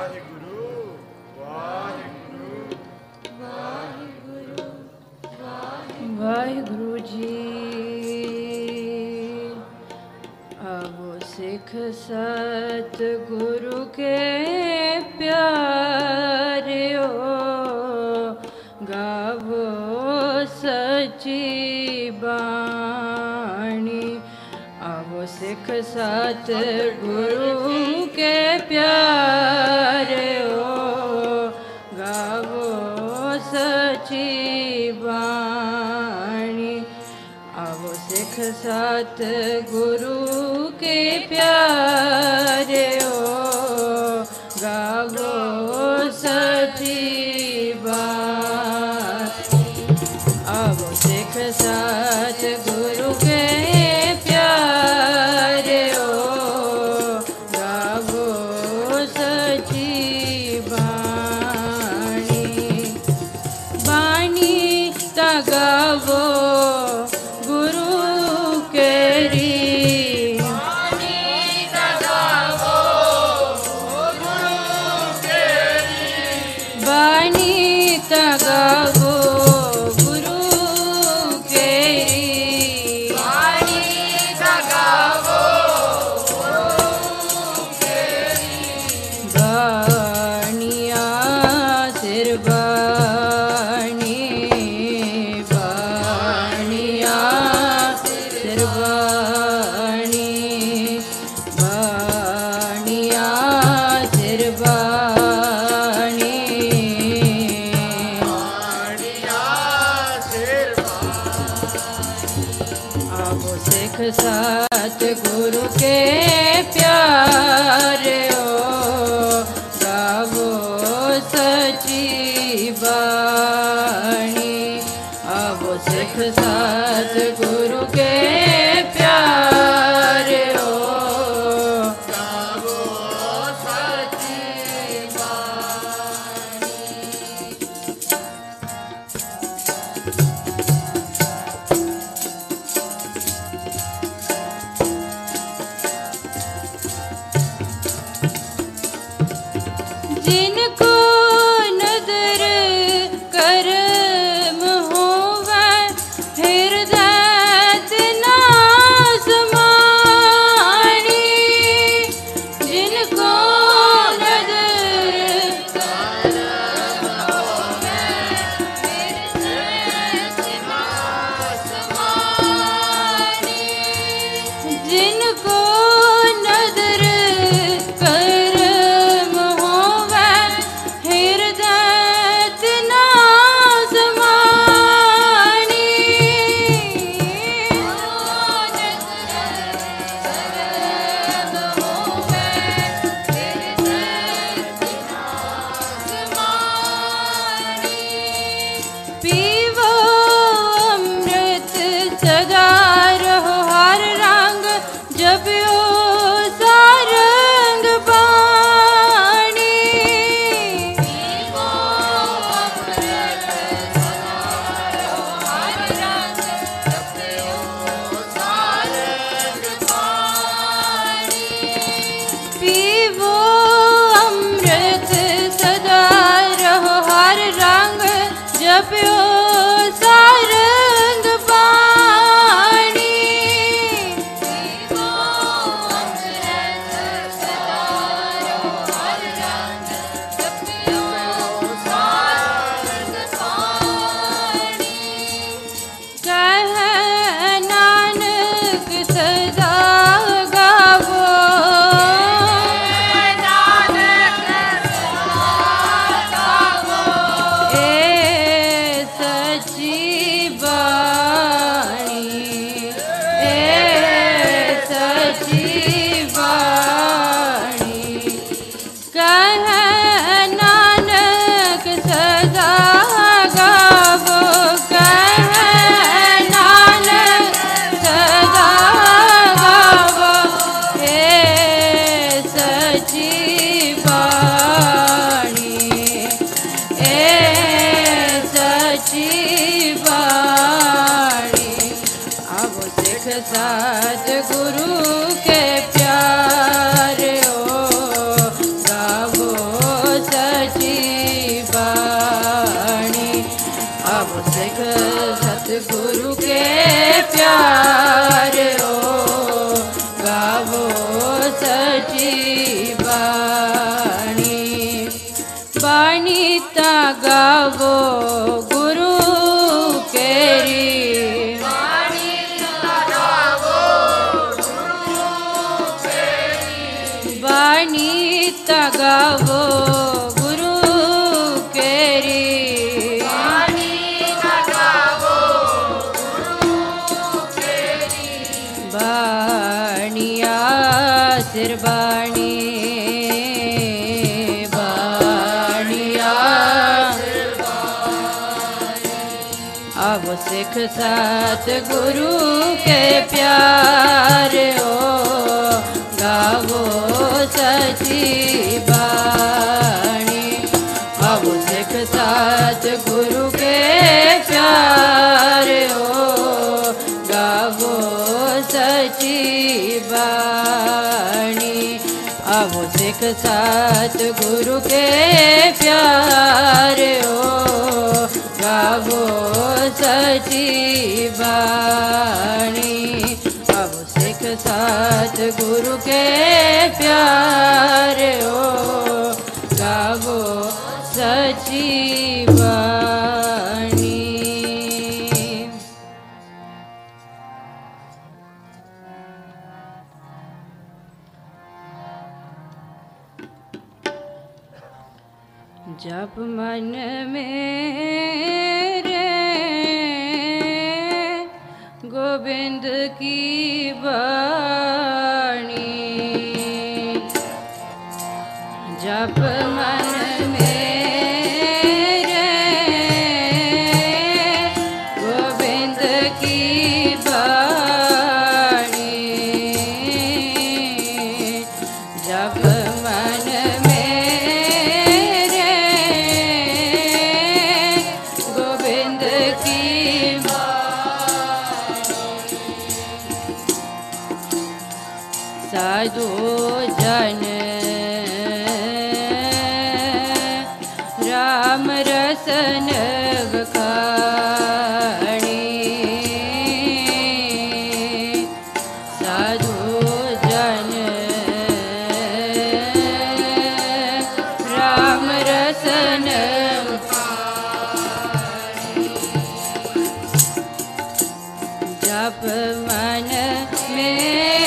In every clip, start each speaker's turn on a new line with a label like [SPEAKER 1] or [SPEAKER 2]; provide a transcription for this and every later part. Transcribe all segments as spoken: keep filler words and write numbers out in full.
[SPEAKER 1] वाहिगुरु जी। अब सिख सतगुरु के प्यारियो, गावो सची बाणी। अब सिख सतगुरु के प्यारियो, गावो सची बाणी। अब सिख सतगुरु के प्यारियो, गावो सची बाणी। अब सिख सतगुरु के प्यारियो, गावो सची बाणी। बाणी ता गावो गुरु केरी, बाणी ता गावो गुरु केरी। बाणी ता गावो गुरु केरी, बाणी ता गावो गुरु केरी। बाणिया सिर बाणी, बाणिया सिर बाणी, बाणिया सिर बाणी, बाणिया सिर बाणी। अब सिख सतगुरु के प्यारियो, गावो सची बाणी। अब सिख सतगुरु के प्यारियो, गावो सची बाणी। जिनको नदर करम होवे, हृदय तना समाणी। जिनको नदर करम होवे, हृदय तना समाणी। जिनको नदर करम होवे, गुरु के प्यार हो गावो सची बाणी बाणी ता गावो गुरु केरी बाणी ता गावो गुरु केरी बाणी ता गावो गुरु केरी बाणिया सिरबाणी बाणिया अब सिख साथ गुरु के प्यार हो गावो सची बाणी अब सिख साथ गुरु के प्यार हो गावो सची बाणी अब सिख साथ गुरु के प्यार हो गावो सची बाणी अब सिख साथ गुरु के प्यार हो गावो सची बाणी। जब मन मेरे गोविंद की बाणी जब मन मेरे गोविंद की बाणी जब मन साधु जन राम रसन बखानी साधु जन राम रसन जप मन में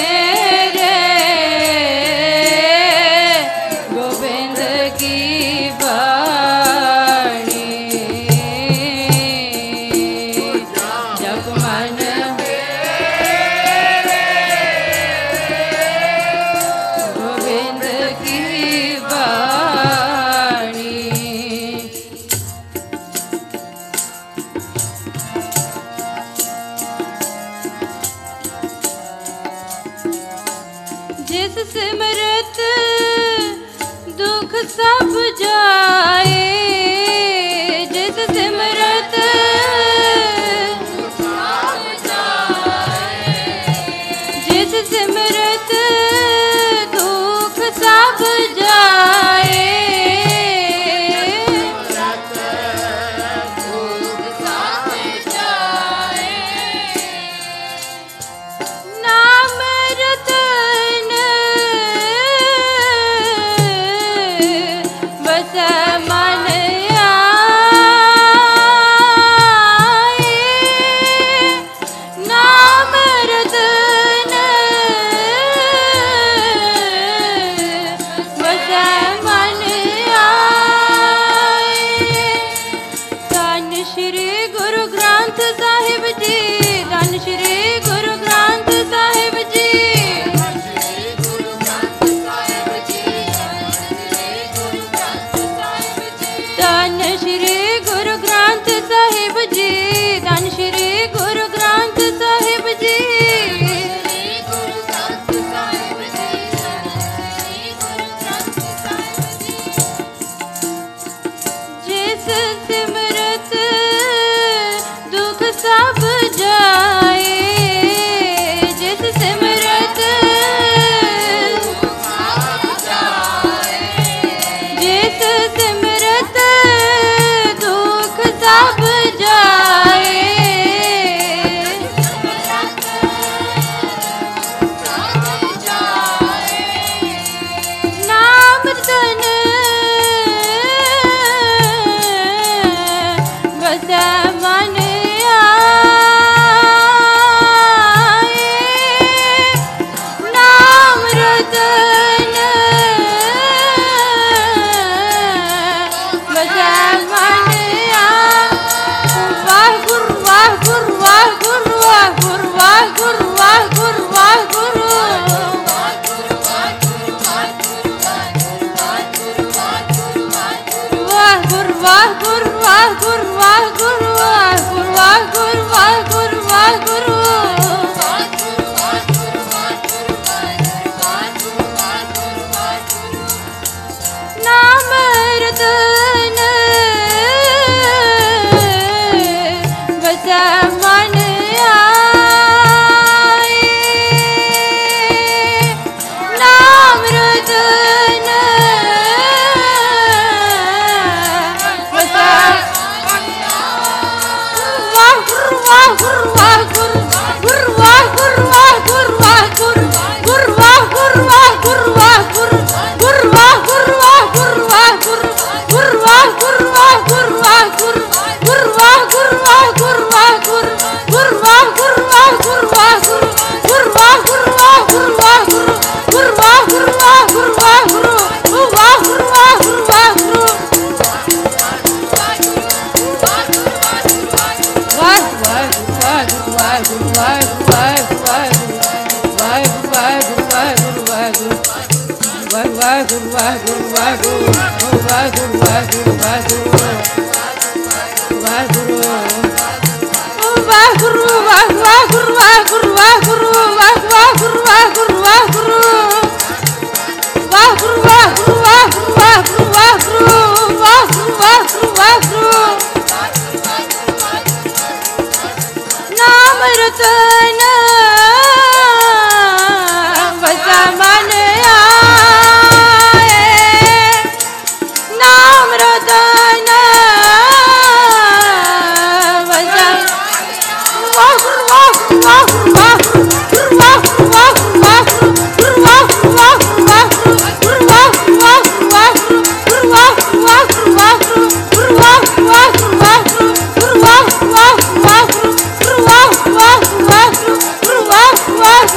[SPEAKER 1] जिस सिमरत दुख सब जाए जिस सिमरत सब जाए जिस सिमरत दुख सब जाए बस ਵਾਹਿਗੁਰੂ ਵਾਹਿਗੁਰੂ ਵਾਹਿਗੁਰੂ ਵਾਹਿਗੁਰੂ ਵਾਹਿਗੁਰੂ ਵਾਹਿਗੁਰੂ ਨਾਮ ਰਤਨ ਵਸੈ ਮਨ ਆਏ ਨਾਮ ਰਤਨ ਵਸੈ ਵਾਹਿਗੁਰੂ ਵਾਹਿਗੁਰੂ ਵਾਹਿਗੁਰੂ ਗੁਰੂ ਵਾਹਿਗੁਰੂ ਵਾਹਿਗੁਰੂ ਵਾਹਿਗੁਰੂ ਗੁਰੂ ਵਾਹਿਗੁਰੂ ਵਾਹਿਗੁਰੂ ਵਾਹਿਗੁਰੂ ਗੁਰੂ ਵਾਹਿਗੁਰੂ ਵਾਹਿਗੁਰੂ ਵਾਹਿਗੁਰੂ ਗੁਰੂ ਵਾਹਿਗੁਰੂ ਵਾਹਿਗੁਰੂ ਵਾਹਿਗੁਰੂ ਗੁਰੂ ਵਾਹਿਗੁਰੂ ਵਾਹਿਗੁਰੂ ਵਾਹਿਗੁਰੂ ਗੁਰੂ ਵਾਹਿਗੁਰੂ ਵਾਹਿਗੁਰੂ ਵਾਹਿਗੁਰੂ ਗੁਰੂ ਵਾਹਿਗੁਰੂ ਵਾਹਿਗੁਰੂ ਵਾਹਿਗੁਰੂ ਗੁਰੂ ਵਾਹਿਗੁਰੂ ਵਾਹਿਗੁਰੂ ਵਾਹਿਗੁਰੂ ਵਾਹਿਗੁਰੂ ਵਾਹਿਗੁਰੂ ਵਾਹਿਗੁਰੂ ਨਾਮ ਰਤਨ ਵਸੈ ਮਨ ਆਏ ਨਾਮ ਰਤਨ ਵਸੈ ਵਾਹਿਗੁਰੂ ਵਾਹਿਗੁਰੂ ਵਾਹਿਗੁਰੂ ਗੁਰੂ ਵਾਹਿਗੁਰੂ ਵਾਹਿਗੁਰੂ ਗੁਰੂ ਵਾਹਿਗੁਰੂ ਵਾਹਿਗੁਰੂ ਗੁਰੂ ਵਾਹਿਗੁਰੂ ਵਾਹਿਗੁਰੂ ਗੁਰੂ ਵਾਹਿਗੁਰੂ ਵਾਹਿਗੁਰੂ ਗੁਰੂ ਵਾਹਿਗੁਰੂ ਵਾਹਿਗੁਰੂ ਗੁਰੂ ਵਾਹਿਗੁਰੂ ਵਾਹਿਗੁਰੂ ਗੁਰੂ ਵਾਹਿਗੁਰੂ ਵਾਹਿਗੁਰੂ ਗੁਰੂ ਵਾਹਿਗੁਰੂ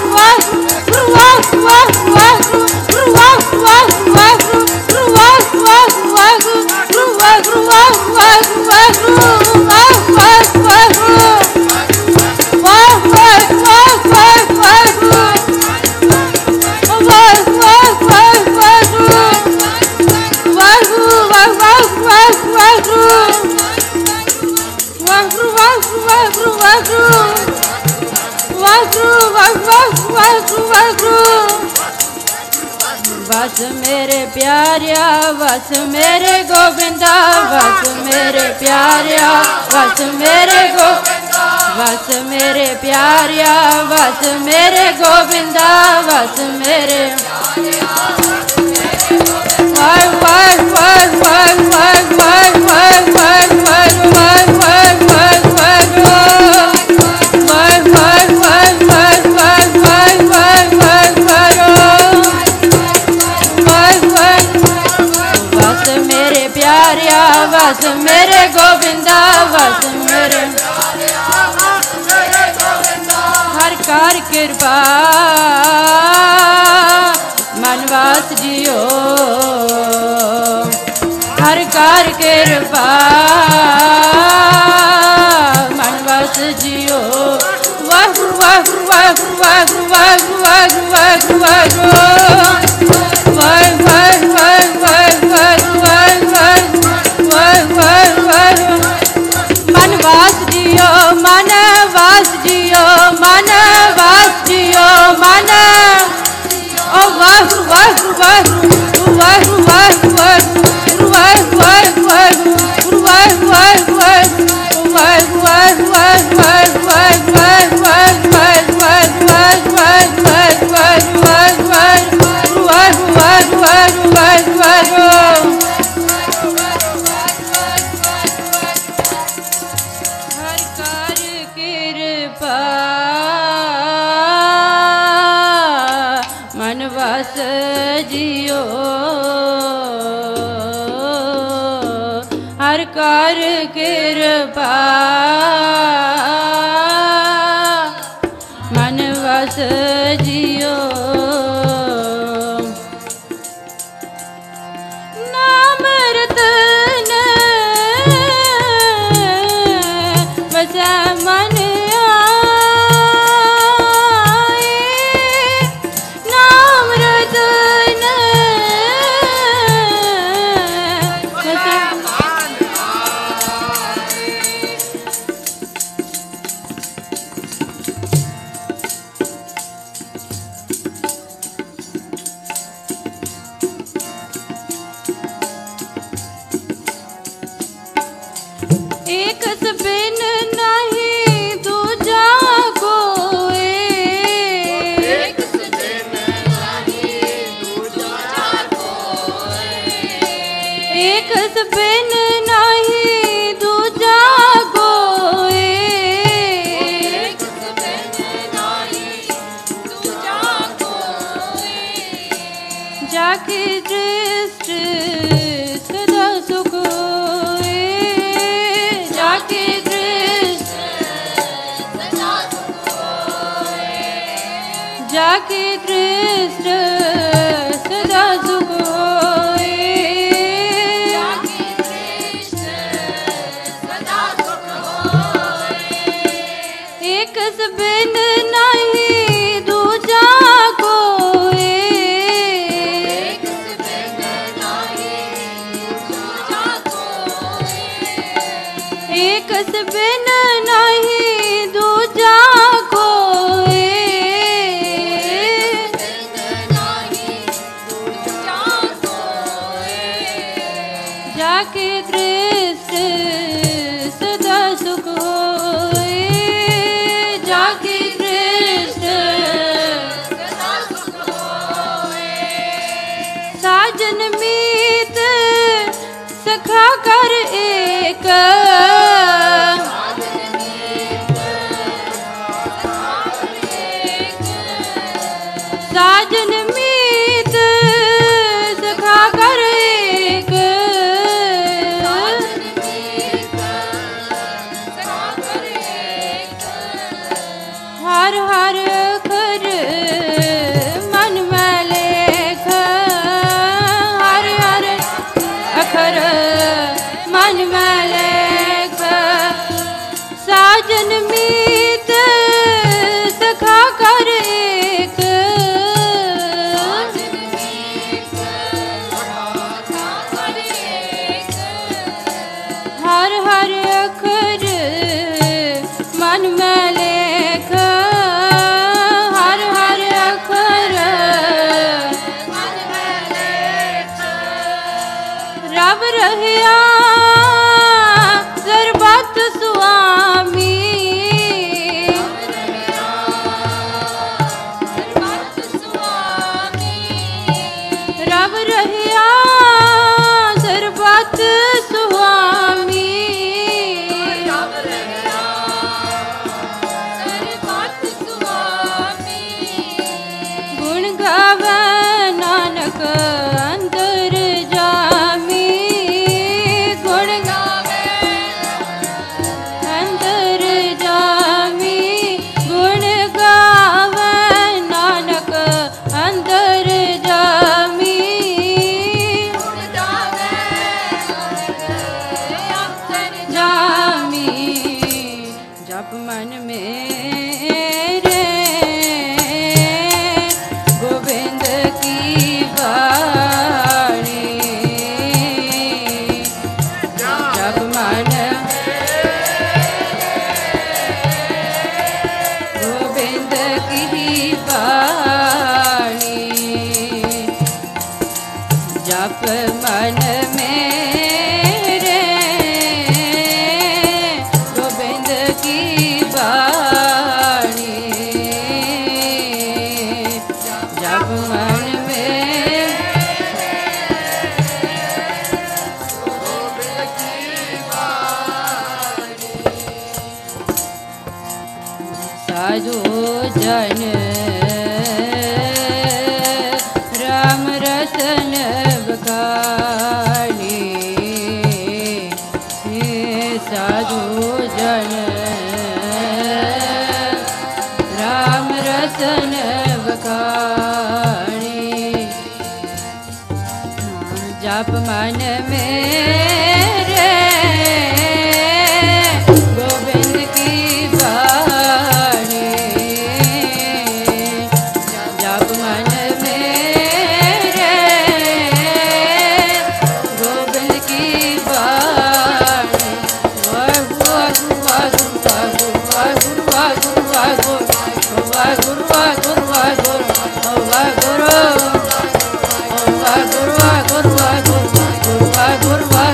[SPEAKER 1] ਵਸ ਮੇਰੇ ਪਿਆਰਿਆ ਵਸ ਮੇਰੇ ਗੋਬਿੰਦਾ ਵਸ ਮੇਰੇ ਪਿਆਰਿਆ ਵਸ ਮੇਰੇ ਗੋਬਿੰਦਾ ਵਸ ਮੇਰੇ ਪਿਆਰਿਆ ਵਸ ਮੇਰੇ ਗੋਬਿੰਦਾ ਵਸ ਮੇਰੇ ਵਾਹਿ ਵਾਹਿ ਵਾਹਿ ਵਾਹਿ ਵਾਹਿ ਵਾਹਿ ਵਾਹਿ ਵਾਹਿ ਵਾਹਿ ਵਾਹਿ ਵਾਹਿ ਵਾਹਿ ਵਸ ਮੇਰੇ ਗੋਬਿੰਦਾ ਵਸ ਮੇਰੇ ਹਰ ਕਰ ਕਿਰਪਾ ਮਨ ਵਾਸ ਜਿਓ ਹਰ ਕਰ ਕਿਰਪਾ ਮਨ ਵਾਸ ਜਿਓ ਵਾਹਿਗੁਰੂ ਵਾਹਿਗੁਰੂ ਵਾਹਿਗੁਰੂ ਵਾਹਿਗੁਰੂ ਵਾਹਿਗੁਰੂ ਵਾਹਿਗੁਰੂ ਮਨ ਵਾਸ ਜਿਓ ਮਨ ਵਾਸ ਜਿਓ ਮਨ ਵਾਸ ਜਿਓ ਮਨ ਓ ਵਾਹਿਗੁਰੂ ਵਾਹਿਗੁਰੂ ਵਾਹਿਗੁਰੂ ਵਾਹਿਗੁਰੂ ਵਾਹਿਗੁਰੂ ਵਾਹਿਗੁਰੂ ਵਾਹਿਗੁਰੂ ਵਾਹਿਗੁਰੂ ਵਾਹਿਗੁਰੂ ਹਰ ਕਰ ਕਿਰਪਾ ਮਨ ਵਸ ਜਿਓ ਨਾਮ ਰਤਨ ਵਸੈ ਮਨ एक बिन नहीं दूजा कोई, एक बिन नहीं दूजा कोई, जाके दृष्टि सदा सुख होए, जाके दृष्टि सदा सुख होए, जाके दृष्टि सदा सुख होए, जाके दृष्टि सदा सुख होए, एक बिन नहीं दूजा कोई, एक बिन नहीं दूजा कोई, एक बिन नहीं दूजा कोई, जाके दृष्टि सदा सुख होए, जाके दृष्टि सदा सुख होए, साजन मीत सखा कर एक, साजन मीत सखा कर एक, हर हर अखर मन में लेख, हर हर अखर मन में लेख, साजन मीत सखा कर एक, हर हर अखर मन में लेख, हर हर अखर मन में लेख, रब रहिया सर्वत स्वामी, रब रहिया सर्वत स्वामी, गुण गावे नानक अंतर जामी, गुण गावे अंतर जामी, गुण गावे नानक अंतर जामी, गुण गावे अंतर जामी, जप मन मेरे गोविंद की वाणी, जप मन गोविंद की वाणी, जप मन मेरे गोविंद की वाणी, जप मन में साधु जन राम रसन बखानी, साधु जन राम रसन बखानी, जप मन मेरे गोविंद की वाणी, जप मन मेरे गोविंद की वाणी, वाहिगुरु वाहिगुरु वाहिगुरु वाहिगुरु वाहिगुरु वाहिगुरु वाहिगुरु वाहिगुरु वाहिगुरु वाहिगुरु वाहिगुरु वाहिगुरु वाहिगुरु वाहिगुरु वाहिगुरु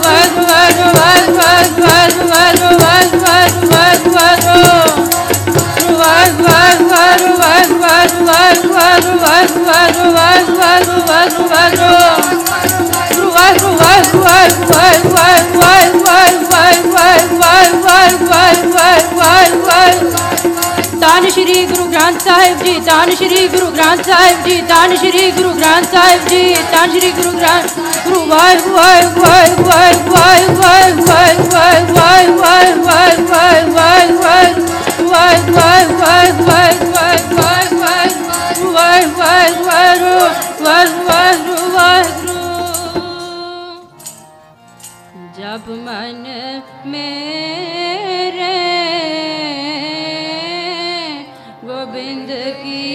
[SPEAKER 1] ਧੰਨ ਸ਼੍ਰੀ ਗੁਰੂ ਗ੍ਰੰਥ ਸਾਹਿਬ ਜੀ, ਧੰਨ ਸ਼੍ਰੀ ਗੁਰੂ ਗ੍ਰੰਥ ਸਾਹਿਬ ਜੀ, ਧੰਨ ਸ਼੍ਰੀ ਗੁਰੂ ਗ੍ਰੰਥ ਸਾਹਿਬ ਜੀ, ਧੰਨ ਸ਼੍ਰੀ ਗੁਰੂ ਗ੍ਰੰਥ ਗੁਰੂ ਵਾਹਿਗੁਰੂ ਵਾਹਿਗੁਰੂ ਵਾਹਿਗੁਰੂ ਵਾਹਿਗੁਰੂ ਵਾਹਿਗੁਰੂ ਵਾਹਿਗੁਰੂ ਵਾਹਿਗੁਰੂ ਵਾਹਿਗੁਰੂ ਵਾਹਿਗੁਰੂ जब मन मेरे गोविंद की